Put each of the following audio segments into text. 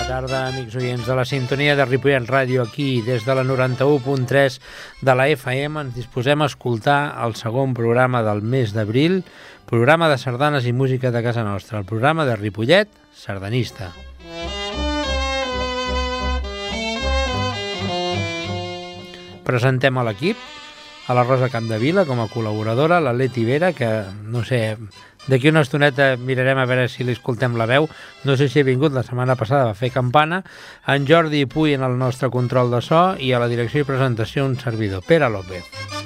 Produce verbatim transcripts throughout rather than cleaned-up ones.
tarda, amics oients de la sintonia de Ripollet Ràdio. Aquí, des de la noranta-u punt tres de la F M, ens disposem a escoltar el segon programa del mes d'abril, programa de sardanes i música de casa nostra, el programa de Ripollet Sardanista. Presentem a l'equip, a la Rosa Capdevila com a col·laboradora, la Leti Vera, que, no sé, d'aquí una estoneta mirarem a veure si li escoltem la veu, no sé si ha vingut, la setmana passada va fer campana, en Jordi Puy en el nostre control de so i a la direcció i presentació un servidor, Pere López.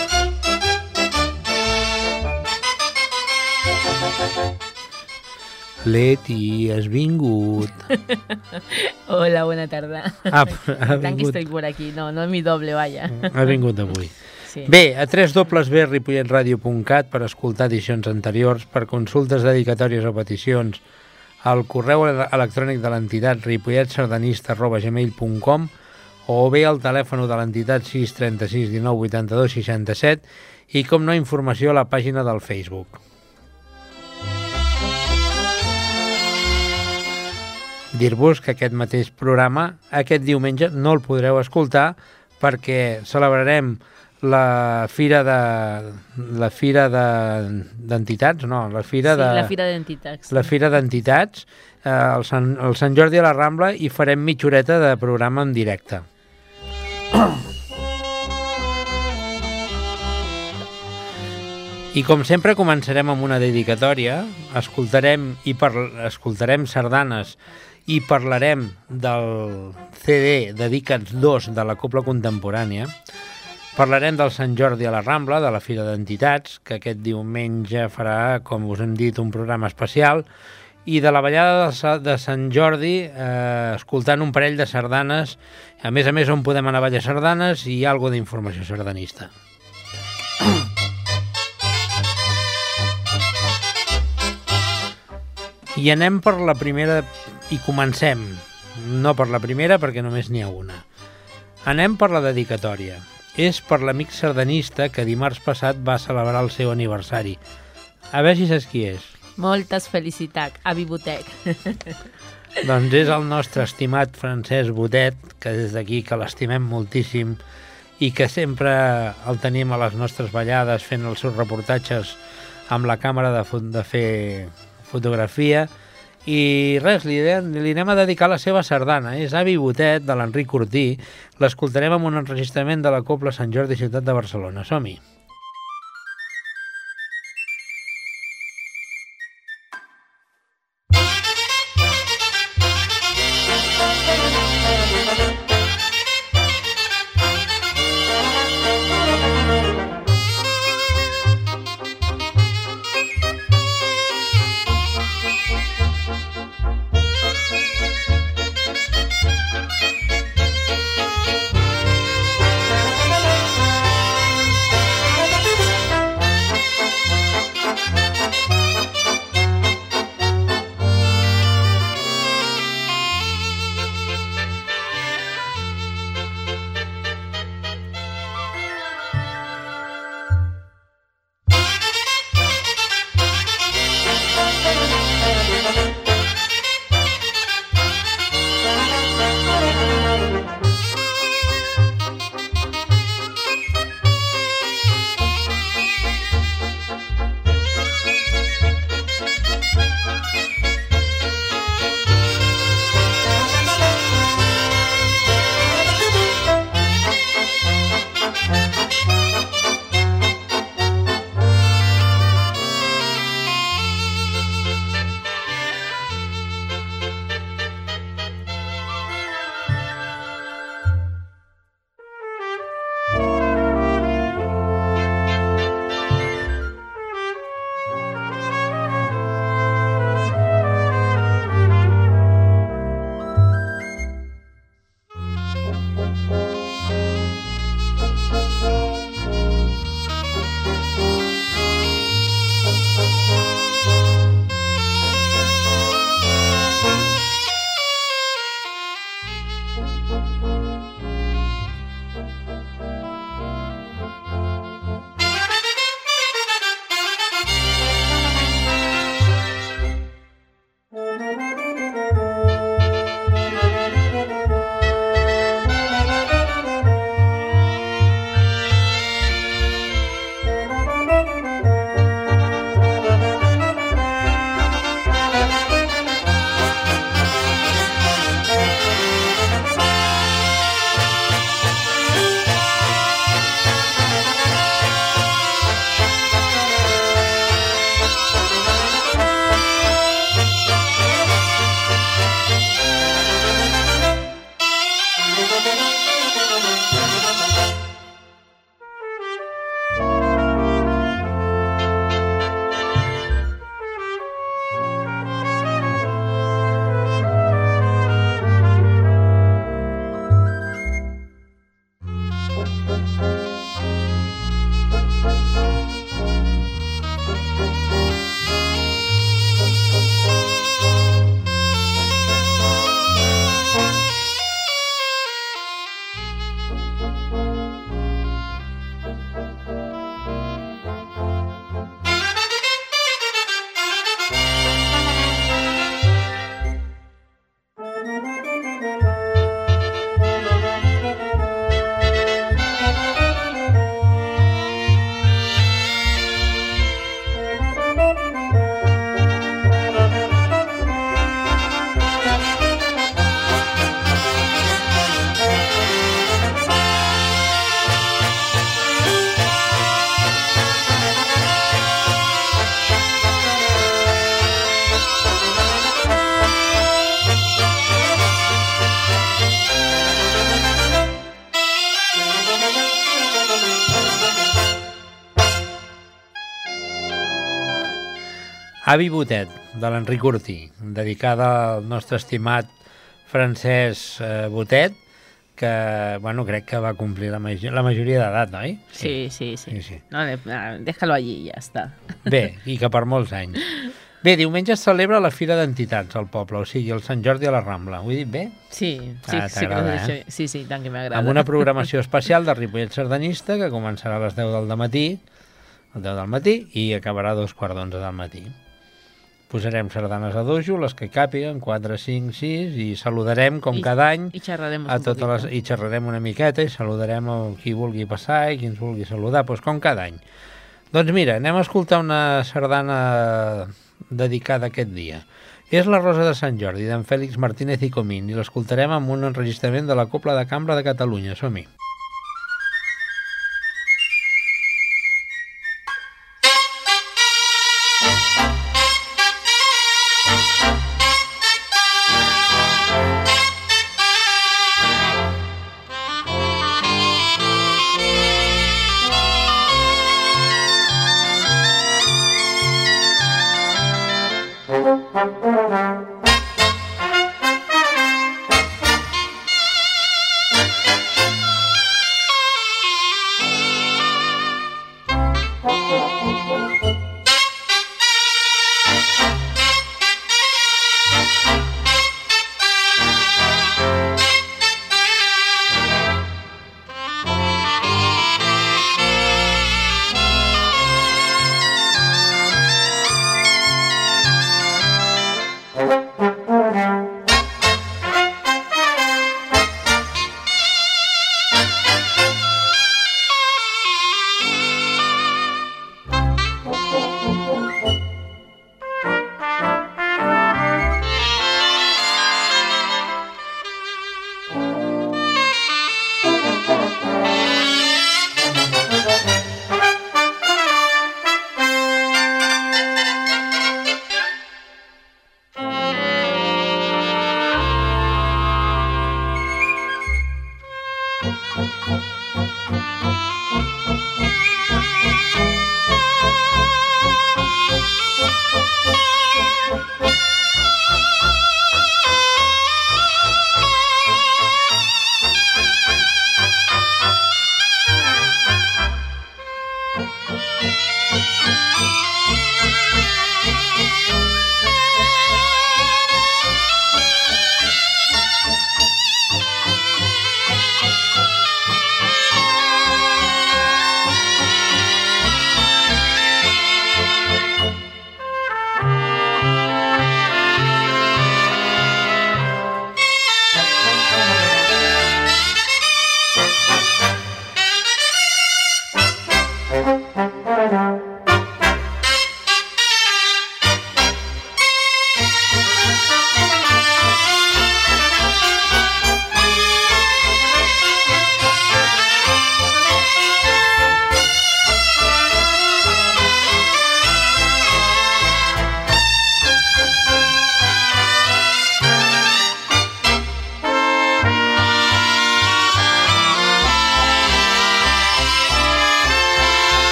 Leti, has vingut. Hola, buena tarda. Ah, ha Tant que estoy por aquí, no, no es mi doble, vaya. Ha vingut avui. Sí. Bé, a w w w punt ripollet ràdio punt cat per escoltar edicions anteriors, per consultes, dedicatòries o peticions, al correu electrònic de l'entitat ripolletsardanista arroba gmail punt com o bé al telèfon de l'entitat sis trenta-sis dinou vuitanta-dos seixanta-set i, com no, informació a la pàgina del Facebook. Dir-vos que aquest mateix programa, aquest diumenge, no el podreu escoltar perquè celebrarem la fira de la fira de d'entitats, no, la fira sí, de la fira d'entitats. La fira d'entitats, eh, el, Sant, el Sant Jordi a la Rambla, i farem mitja horeta de programa en directe. I com sempre començarem amb una dedicatòria, escoltarem i par escoltarem sardanes i parlarem del C D Dedicats dos de la Cobla Contemporània. Parlarem del Sant Jordi a la Rambla, de la Fira d'Entitats, que aquest diumenge farà, com us hem dit, un programa especial, i de la ballada de Sant Jordi, eh, escoltant un parell de sardanes, a més a més on podem anar a ballar sardanes i algo d'informació sardanista. I anem per la primera, i comencem, no per la primera perquè només n'hi ha una. Anem per la dedicatòria. És per l'amic sardanista que dimarts passat va celebrar el seu aniversari. A veure si saps qui és. Moltes felicitats, avi Botet. Doncs és el nostre estimat Francesc Botet, que des d'aquí que l'estimem moltíssim i que sempre el tenim a les nostres ballades fent els seus reportatges amb la càmera de, de fer fotografia. I res, li, li anem a dedicar la seva sardana. És Avi Botet, de l'Enric Cortí. L'escoltarem amb un enregistrament de la Cobla Sant Jordi, ciutat de Barcelona. Som-hi! Thank you. Avi Botet, de l'Enric Ortí, dedicada al nostre estimat Francesc eh, Botet, que, bueno, crec que va complir la, major, la majoria d'edat, oi? Sí, sí, sí. sí, sí. No, déjalo allí i ja està. Bé, i que per molts anys. Bé, diumenge es celebra la Fira d'Entitats al poble, o sigui, el Sant Jordi a la Rambla. Ho he dit bé? Sí, sí, Ah, sí, que t'agrada, això, eh? sí, sí, tant que m'agrada. Amb una programació especial de Ripollet Sardanista que començarà a les deu del matí, a les deu del matí, i acabarà a dos quarts d'onze del matí. Posarem sardanes a dojo, les que càpiguen, quatre, cinc, sis, i saludarem, com I, cada any, i xerrarem a un totes les, poquito. i xerrarem una miqueta i saludarem a qui vulgui passar i qui ens vulgui saludar, doncs com cada any. Doncs mira, anem a escoltar una sardana dedicada a aquest dia. És la Rosa de Sant Jordi, d'en Fèlix Martínez i Comín, i l'escoltarem amb un enregistrament de la Cobla de Cambra de Catalunya. Som-hi.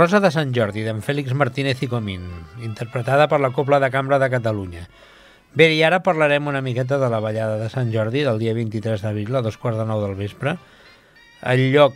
Rosa de Sant Jordi, d'en Fèlix Martínez i Comín, interpretada per la Cobla de Cambra de Catalunya. Bé, i ara parlarem una miqueta de la ballada de Sant Jordi del dia vint-i-tres d'abril a dos quarts de nou del vespre. El lloc,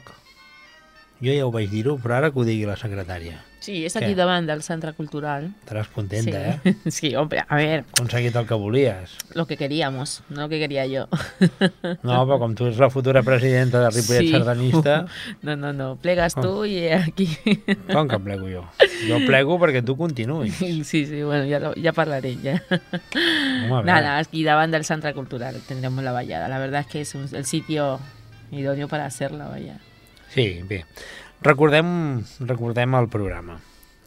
jo ja ho vaig dir-ho, però ara que ho digui la secretària. Sí, és aquí Què? davant del Centre Cultural. Estaràs contenta, Sí. eh? Sí, hombre, a ver, Aconseguit el que volies. lo que queríamos, no lo que quería yo. No, però com tu ets la futura presidenta de Ripollet Sí. Sardanista, No, no, no, plegas tú y aquí. com que plego jo? Jo plego perquè tu continuïs. Sí, sí, bueno, ya, lo- ya parlaré. Ya. Home, a veure. Nada, aquí davant del Centre Cultural tendremos la vallada. La verdad es que es un- el sitio idóneo para hacerla, vaya. Sí, bé. Recordem, recordem el programa.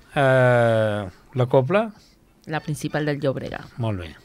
Uh, la Cobla, La principal del Llobrega. molt bé.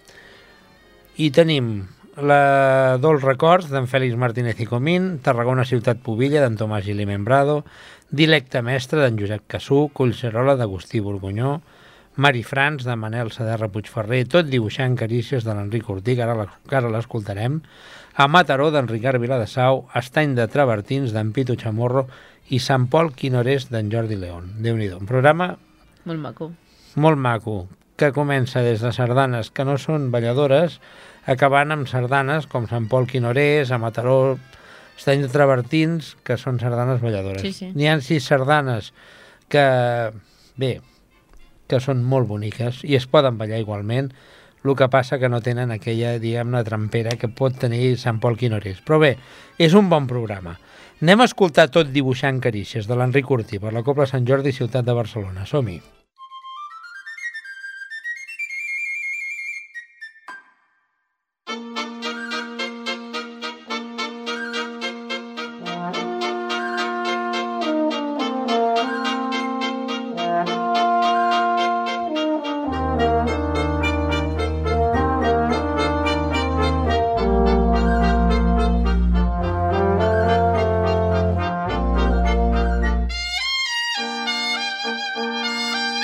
I tenim la Dolç Records d'en Fèlix Martínez i Comín, Tarragona Ciutat Pubilla d'en Tomàs Gili Membrado, Dilecte Mestre d'en Josep Cassú, Collserola d'Agustí Borgunyó, Mari Frans de Manel Saderra Puigferrer, tot dibuixant carícies de l'Enric Ortí, que ara la- que ara l'escoltarem, a Mataró d'en Ricard Viladesau, Estany de Travertins d'en Pitu Chamorro i Sant Pol Quinorés d'en Jordi León. Déu-n'hi-do, un programa Molt maco. molt maco, que comença des de sardanes que no són balladores, acabant amb sardanes com Sant Pol Quinorés, a Mataró, Estany de Travertins, que són sardanes balladores. Sí, sí. N'hi ha sis sardanes que, bé, que són molt boniques i es poden ballar igualment, el que passa que no tenen aquella, diguem-ne, trampera que pot tenir Sant Pol Quinorés. Però bé, és un bon programa. Anem a escoltar Tot dibuixant carícies de l'Enric Ortí per la Cobla Sant Jordi, ciutat de Barcelona. Som-hi. Thank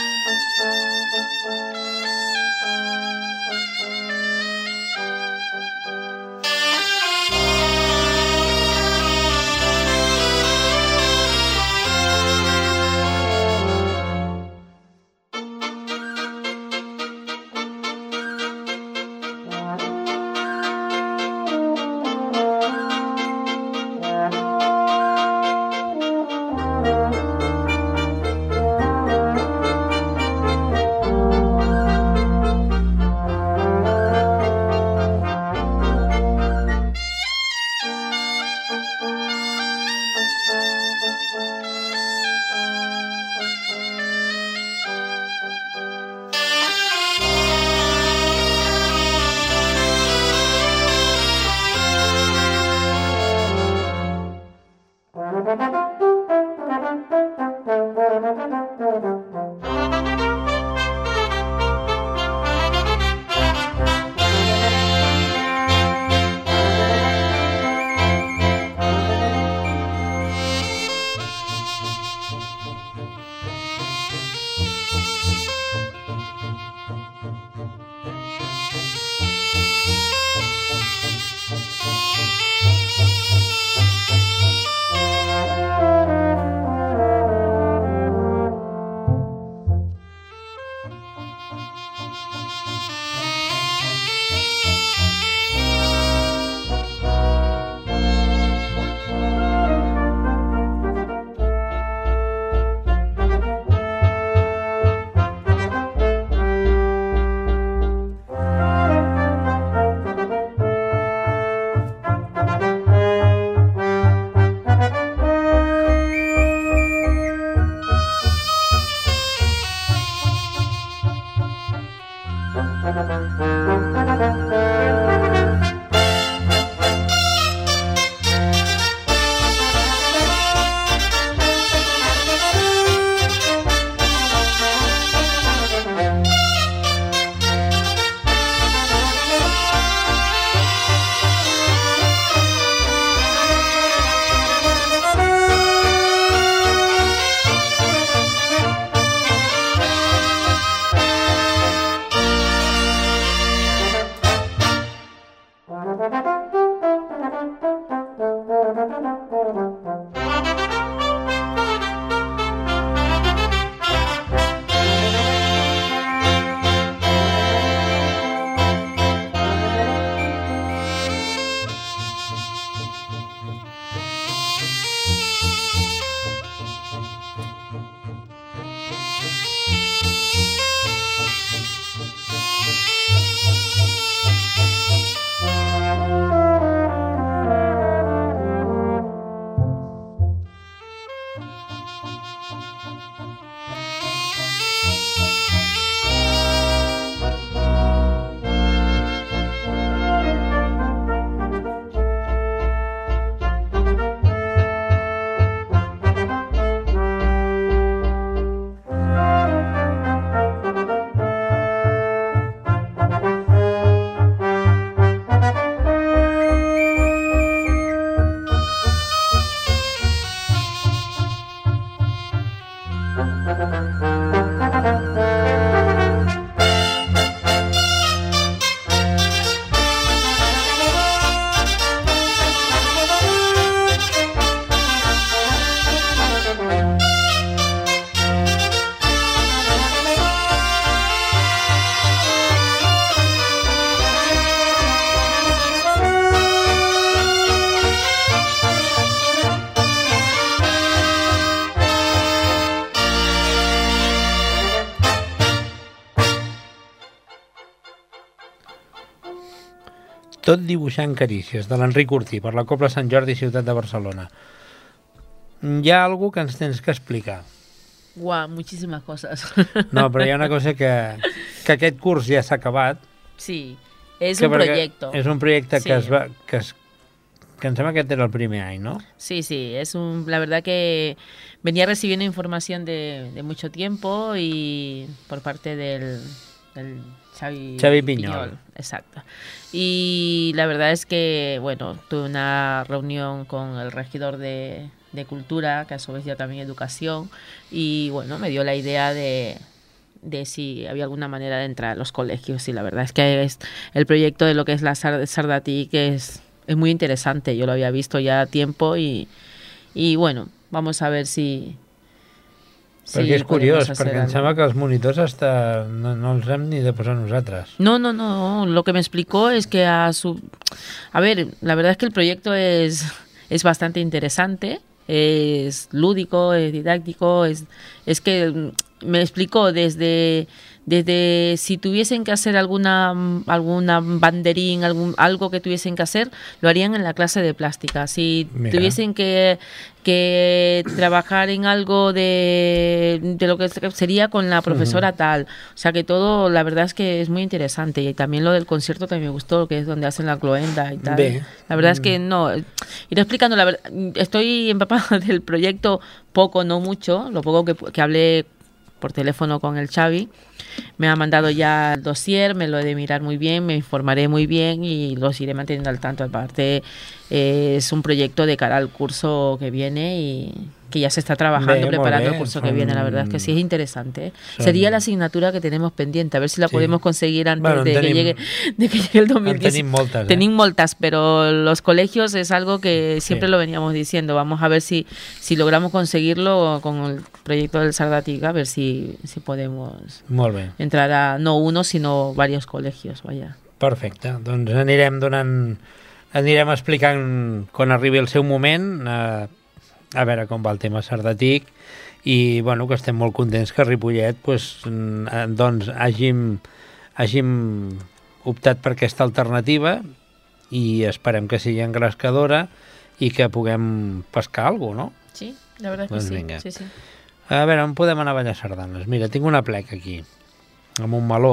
Tot dibuixant carícies, de l'Enric Ortí, per la Cobla Sant Jordi, ciutat de Barcelona. Hi ha alguna que ens tens que explicar. Guau, muchísimas cosas. No, però hi ha una cosa que, que aquest curs ja s'ha acabat. Sí, es que un proyecto. És un projecte Sí. que es va... Que, es, que em sembla que aquest era el primer any, ¿no? Sí, sí, es un, la verdad que venía recibiendo información de, de mucho tiempo y por parte del, del Xavi, Xavi Piñol. Exacto. Y la verdad es que, bueno, tuve una reunión con el regidor de, de Cultura, que a su vez ya también Educación, y bueno, me dio la idea de, de si había alguna manera de entrar a los colegios, y la verdad es que es el proyecto de lo que es la Sar- Sardatic es, es muy interesante, yo lo había visto ya a tiempo y, y bueno, vamos a ver si... Perquè és podemos curiós, hacer perquè em algo. sembla que els monitors hasta no, no els hem ni de posar nosaltres. No, no, no. Lo que me explicó es que a su... A ver, la verdad es que el proyecto es, es bastante interesante, es lúdico, es didáctico, es, es que me explicó desde... Desde si tuviesen que hacer alguna alguna banderín, algún, algo que tuviesen que hacer, lo harían en la clase de plástica. Si Mira. tuviesen que, que trabajar en algo de, de lo que sería con la profesora uh-huh. tal. O sea que todo, la verdad es que es muy interesante. Y también lo del concierto también me gustó, que es donde hacen la cloenda y tal. Bé. La verdad es que no. Ir explicando, la verdad, estoy empapada del proyecto poco, no mucho. Lo poco que, que hablé por teléfono con el Xavi. Me ha mandado ya el dossier, me lo he de mirar muy bien, me informaré muy bien y los iré manteniendo al tanto. Aparte, eh, es un proyecto de cara al curso que viene y que ya se está trabajando, bé, preparando bé. el curso Son... que viene. La verdad es que sí es interesante, ¿eh? Son... Sería la asignatura que tenemos pendiente, a ver si la sí. podemos conseguir antes bueno, de, tenim... que llegue, de que llegue el dos mil diez. Tenim moltes, eh? Tenim moltes, pero los colegios es algo que siempre sí. lo veníamos diciendo. Vamos a ver si, si logramos conseguirlo con el proyecto del Sardatic, a ver si, si podemos Molt bé. entrar a no uno, sino varios colegios. Vaya. Perfecte, doncs anirem donant... Anirem explicant quan arribi el seu moment, eh, a veure com va el tema Sardatic, i bueno, que estem molt contents que a Ripollet pues, doncs, hàgim, hàgim optat per aquesta alternativa i esperem que sigui engrescadora i que puguem pescar alguna cosa, no? Sí, la verdad doncs que sí. Vinga. sí, sí. A veure, on podem anar a ballar sardanes? Mira, tinc una plec aquí, amb un meló.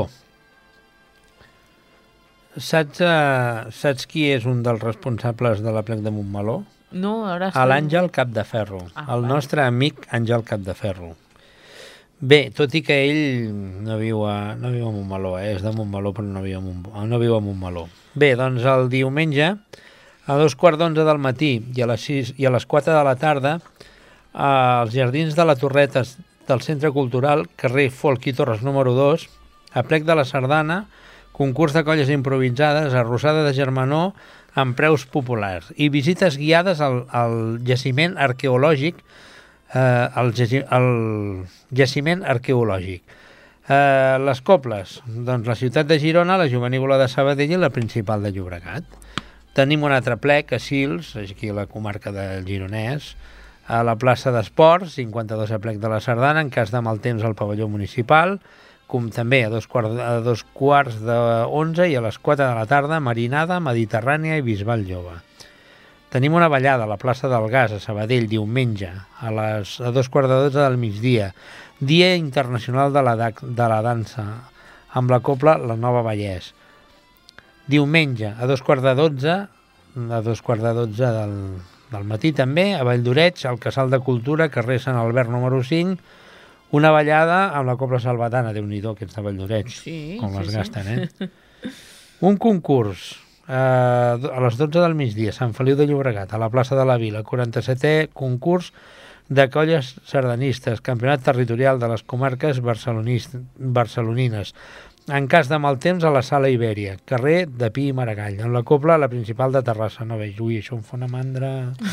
Saps, uh, saps qui és un dels responsables de la plec de Montmeló? No, ara... A l'Àngel Capdeferro, Ah, el vale. nostre amic Àngel Capdeferro. Bé, tot i que ell no viu a, no viu a Montmeló, eh? És de Montmeló però no viu a, Mont, no viu a Montmeló. Bé, doncs el diumenge, a dos quarts d'onze del matí i a les sis i a les quatre de la tarda, als jardins de la Torreta del Centre Cultural, carrer Folk i Torres número dos, a plec de la Sardana, concurs de colles improvisades, arrossada de germanor amb preus populars i visites guiades al, al jaciment arqueològic, eh, al, jaci, al jaciment arqueològic. Eh, les cobles, doncs la ciutat de Girona, la Jovenívola de Sabadell i la principal de Llobregat. Tenim un altre plec a Sils, aquí a la comarca del Gironès, a la plaça d'Esports, cinquanta-dos a plec de la Sardana, en cas de mal temps al pavelló municipal, com també a dos quarts, a dos quarts d'onze i a les quatre de la tarda, Marinada, Mediterrània i Bisbal Jove. Tenim una ballada a la plaça del Gas, a Sabadell, diumenge, a, les, a dos quarts de dotze del migdia, Dia Internacional de la, de la Dansa, amb la cobla La Nova Vallès. Diumenge, a dos quarts de dotze, a dos quarts de dotze del, del matí també, a Valldoreix, al Casal de Cultura, carrer Sant Albert número cinc, una ballada amb la cobla salvatana, Déu-n'hi-do, aquests de Valldoreix, Sí, com sí, les sí. gasten, eh? Un concurs eh, a les dotze del migdia, Sant Feliu de Llobregat, a la plaça de la Vila, quaranta-setè concurs de colles sardanistes, campionat territorial de les comarques barcelonines. En cas de mal temps, a la Sala Ibèria, carrer de Pi i Maragall, en la cobla, la principal de Terrassa. No veig, ui, això em fa una mandra...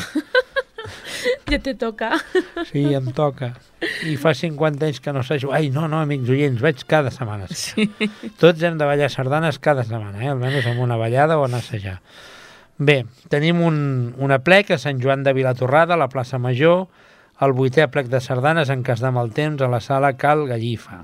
Ja te toca. Sí, em toca. I fa cinquanta anys que no sé... Ai, no, no, amics oients, vaig cada setmana. Sí. Tots hem de ballar sardanes cada setmana, eh? Almenys amb una ballada o anar a assajar. Bé, tenim un, un aplec a Sant Joan de Vilatorrada, a la plaça Major, el vuitè aplec de sardanes en cas de mal temps a la sala Cal Gallifa,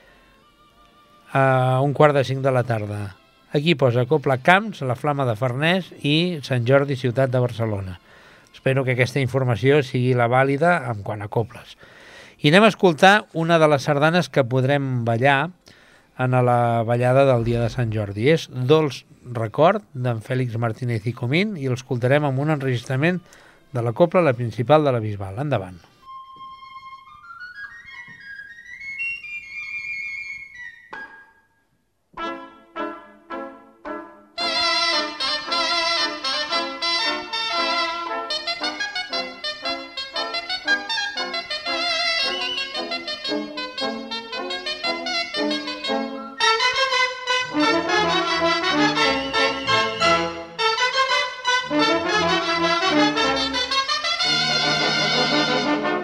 a un quart de cinc de la tarda. Aquí posa Copla Camps, la Flama de Farners i Sant Jordi, ciutat de Barcelona. Espero que aquesta informació sigui la vàlida en quant a coples. I anem a escoltar una de les sardanes que podrem ballar en la ballada del dia de Sant Jordi. És Dolç Record, d'en Fèlix Martínez i Comín, i l'escoltarem amb un enregistrament de la copla, la principal de la Bisbal. Endavant. Thank you.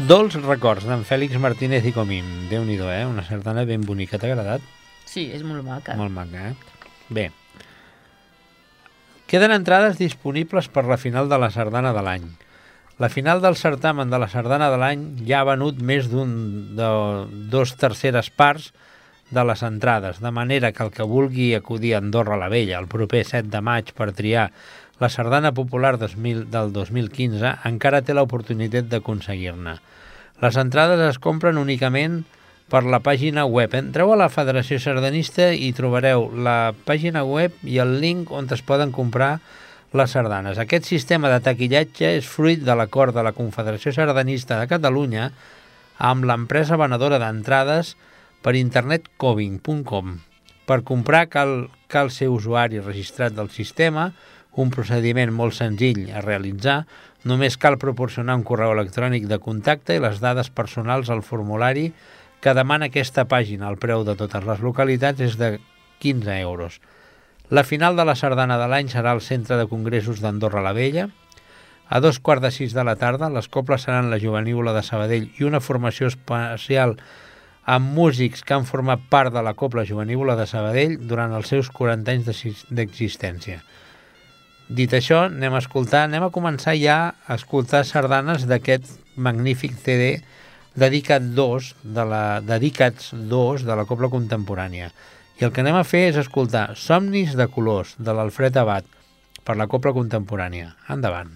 Dolç records d'en Fèlix Martínez i Comín. Déu-n'hi-do, eh? Una sardana ben bonica. T'ha agradat? Sí, és molt maca. Molt maca, eh? Bé. Queden entrades disponibles per la final de la sardana de l'any. La final del certamen de la sardana de l'any ja ha venut més d'un de dos terceres parts de les entrades, de manera que el que vulgui acudir a Andorra la Vella el proper set de maig per triar la sardana popular dos mil, del dos mil quinze encara té l'oportunitat d'aconseguir-ne. Les entrades es compren únicament per la pàgina web. Entreu a la Federació Sardanista i trobareu la pàgina web i el link on es poden comprar les sardanes. Aquest sistema de taquillatge és fruit de l'acord de la Confederació Sardanista de Catalunya amb l'empresa venedora d'entrades per internet coving punt com. Per comprar cal, cal ser usuari registrat del sistema, un procediment molt senzill a realitzar. Només cal proporcionar un correu electrònic de contacte i les dades personals al formulari que demana aquesta pàgina. El preu de totes les localitats és de quinze euros. La final de la sardana de l'any serà al Centre de Congressos d'Andorra la Vella. A dos quarts de sis de la tarda, les coples seran la Jovenívola de Sabadell i una formació especial amb músics que han format part de la Copla Jovenívola de Sabadell durant els seus quaranta anys d'existència. Dit això, anem a escoltar, anem a començar ja a escoltar sardanes d'aquest magnífic C D dedicat dos de la, dedicats dos de la Copla Contemporània. I el que anem a fer és escoltar Somnis de colors, de l'Alfred Abad, per la Copla Contemporània. Endavant.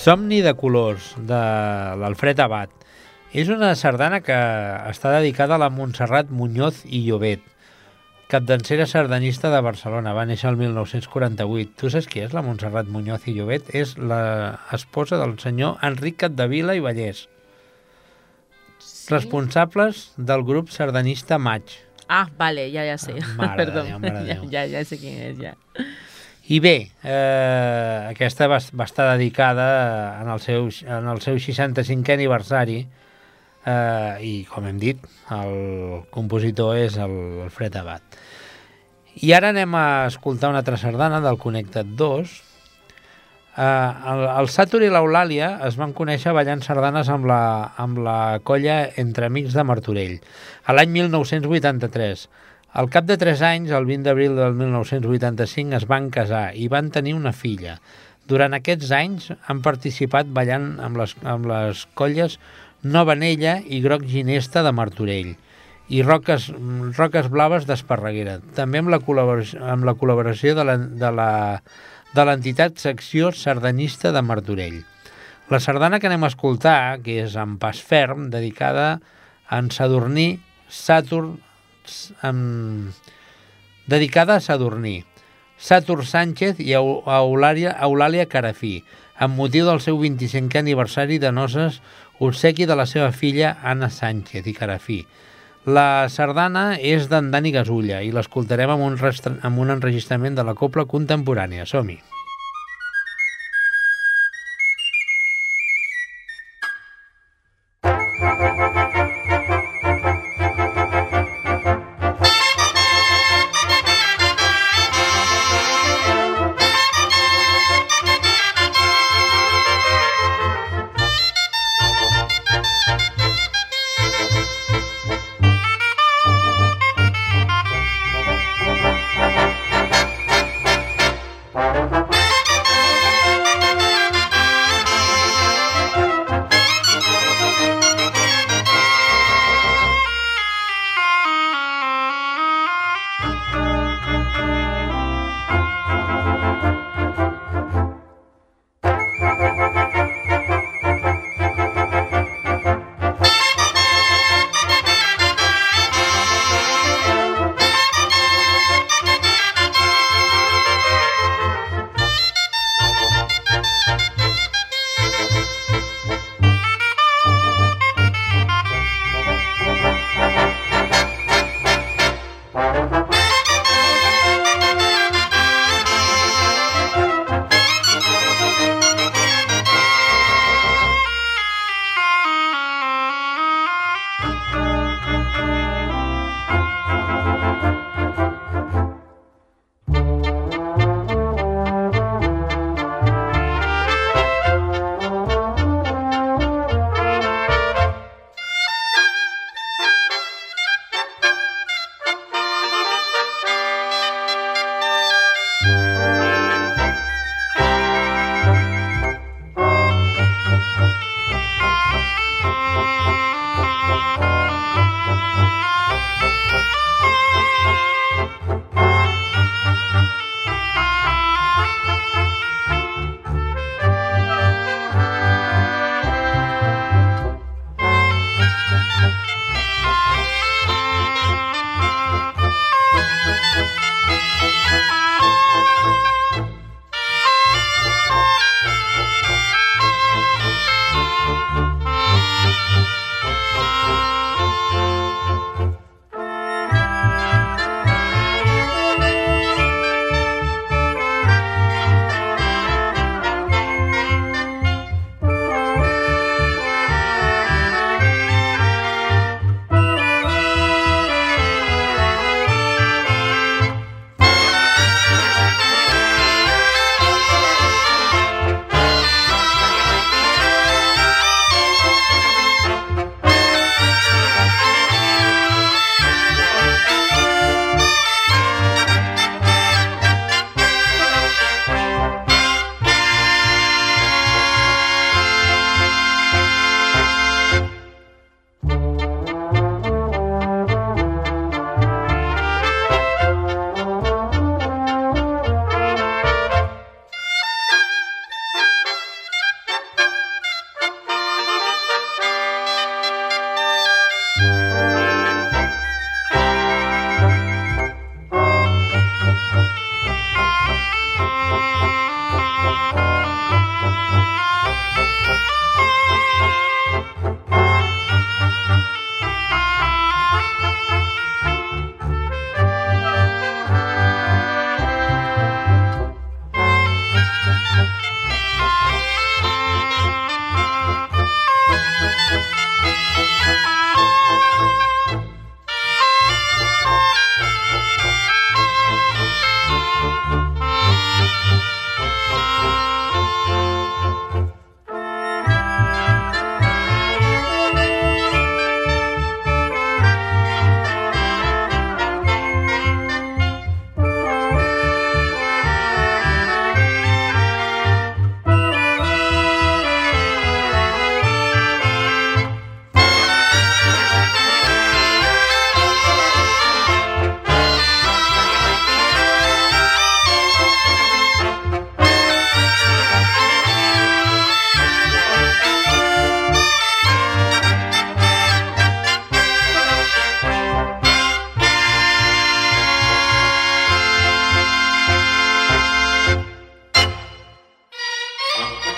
Somni de colors, de l'Alfred Abad. És una sardana que està dedicada a la Montserrat Muñoz i Llobet, capdancera sardanista de Barcelona. Va néixer el mil nou-cents quaranta-vuit. Tu saps qui és la Montserrat Muñoz i Llobet? És l'esposa del senyor Enric Capdevila i Vallès, sí? Responsables del grup sardanista Maig. Ah, vale, ja, ja sé. Mare Perdó, de Déu, mare de ja, Déu. ja, ja sé quin és, ja. I bé, eh, aquesta va, va estar dedicada en el seu, en el seu seixanta-cinquè aniversari, eh, i, com hem dit, el compositor és el Alfred Abad. I ara anem a escoltar una altra sardana del Connectat dos. Eh, el, el Sàtur i l'Eulàlia es van conèixer ballant sardanes amb la, amb la colla Entre Amics de Martorell, a l'any mil nou-cents vuitanta-tres. Al cap de tres anys, el vint d'abril del mil nou-cents vuitanta-cinc, es van casar i van tenir una filla. Durant aquests anys han participat ballant amb les, amb les colles Nova Anella i Groc Ginesta de Martorell i Roques, Roques Blaves d'Esparreguera, també amb la col·laboració, amb la col·laboració de la, de la, de l'entitat Secció Sardanista de Martorell. La sardana que anem a escoltar, que és En Pas Ferm, dedicada a en Sadurní Sàtur, amb... dedicada a Sadurní Sàtur Sánchez i a Eulàlia, Eulàlia Carafí, amb motiu del seu vint-i-cinquè aniversari de noces, obsequi de la seva filla Anna Sánchez i Carafí. La sardana és d'en Dani Gasulla i l'escoltarem amb, un restre... amb un enregistrament de la cobla contemporània. Som-hi!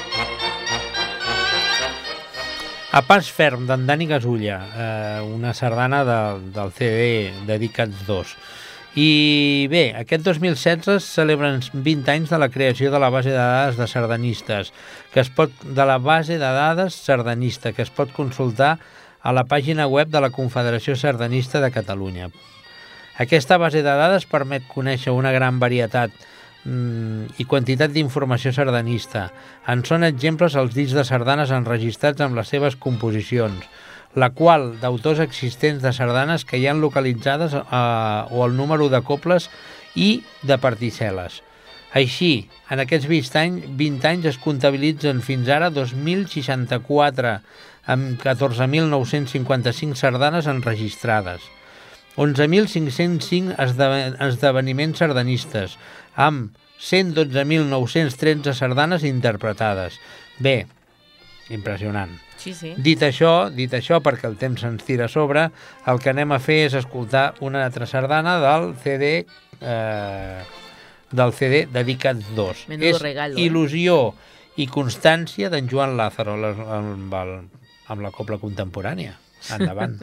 A pas ferm, d'en Dani Gasulla, eh, una sardana de, del C D Dedicats dos. I bé, aquest dos mil setze es celebren vint anys de la creació de la base de dades de sardanistes, que es pot, de la base de dades sardanista, que es pot consultar a la pàgina web de la Confederació Sardanista de Catalunya. Aquesta base de dades permet conèixer una gran varietat i quantitat d'informació sardanista. En són exemples els discs de sardanes enregistrats amb les seves composicions, la qual d'autors existents de sardanes que hi han localitzades eh, o el número de coples i de particel·les. Així, en aquests vint anys, vint anys es comptabilitzen fins ara dos mil seixanta-quatre amb catorze mil nou-cents cinquanta-cinc sardanes enregistrades, onze mil cinc-cents cinc esdeveniments sardanistes, amb cent dotze mil nou-cents tretze sardanes interpretades. Bé, impressionant. Sí, sí. Dit això, dit això, perquè el temps se'ns tira a sobre, el que anem a fer és escoltar una altra sardana del C D eh, del C D Dedicats dos. Menudo és regalo, eh? Il·lusió i constància d'en Joan Lázaro amb, el, amb la cobla contemporània. Endavant.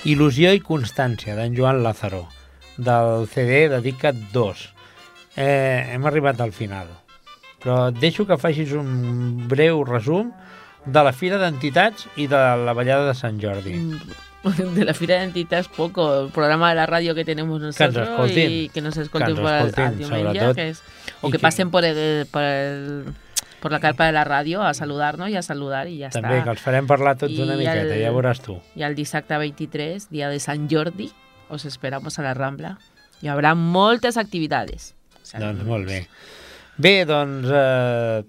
Il·lusió i constància, d'en Joan Lázaro, del C D Dedica't dos. Eh, hem arribat al final, però et deixo que facis un breu resum de la Fira d'Entitats i de la Ballada de Sant Jordi. De la Fira d'Entitats poco, el programa de la radio que tenemos nosotros que y que nos escolten que por el, escoltin, el diumenge, que es, o que, que pasen por el, por el por la carpa de la ràdio a saludar-nos i a saludar i ja També, està. També, que els farem parlar tots I una miqueta, el, ja veuràs tu. I el dissabte vint-i-tres, dia de Sant Jordi, os esperamos a la Rambla. Hi haurà moltes activitats. O sea, doncs molt bé. Bé, doncs... Eh,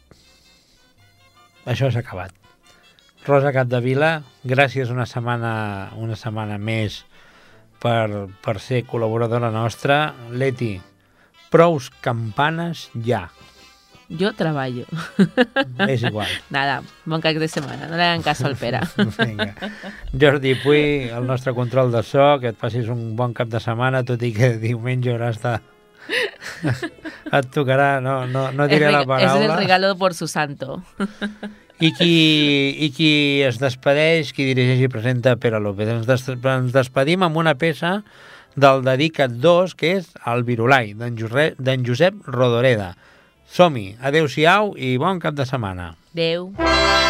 això s'ha acabat. Rosa Capdevila, gràcies una setmana, una setmana més per, per ser col·laboradora nostra. Leti, prous campanes ja. Jo treballo. És igual. Nada, bon cap de setmana. No le hagan caso al Pere. Vinga. Jordi Puy, el nostre control de so, que et passis un bon cap de setmana, tot i que diumenge hauràs de... et tocarà, no, no, no diré la paraula. És el regalo por su santo. I qui, i qui es despedeix, qui dirigeix i presenta Pere López. Ens, des, ens despedim amb una peça del Dedica't dos, que és El Virulai, d'en Josep, Josep Rodoreda. Som-hi, adeu-siau i bon cap de setmana. Adeu.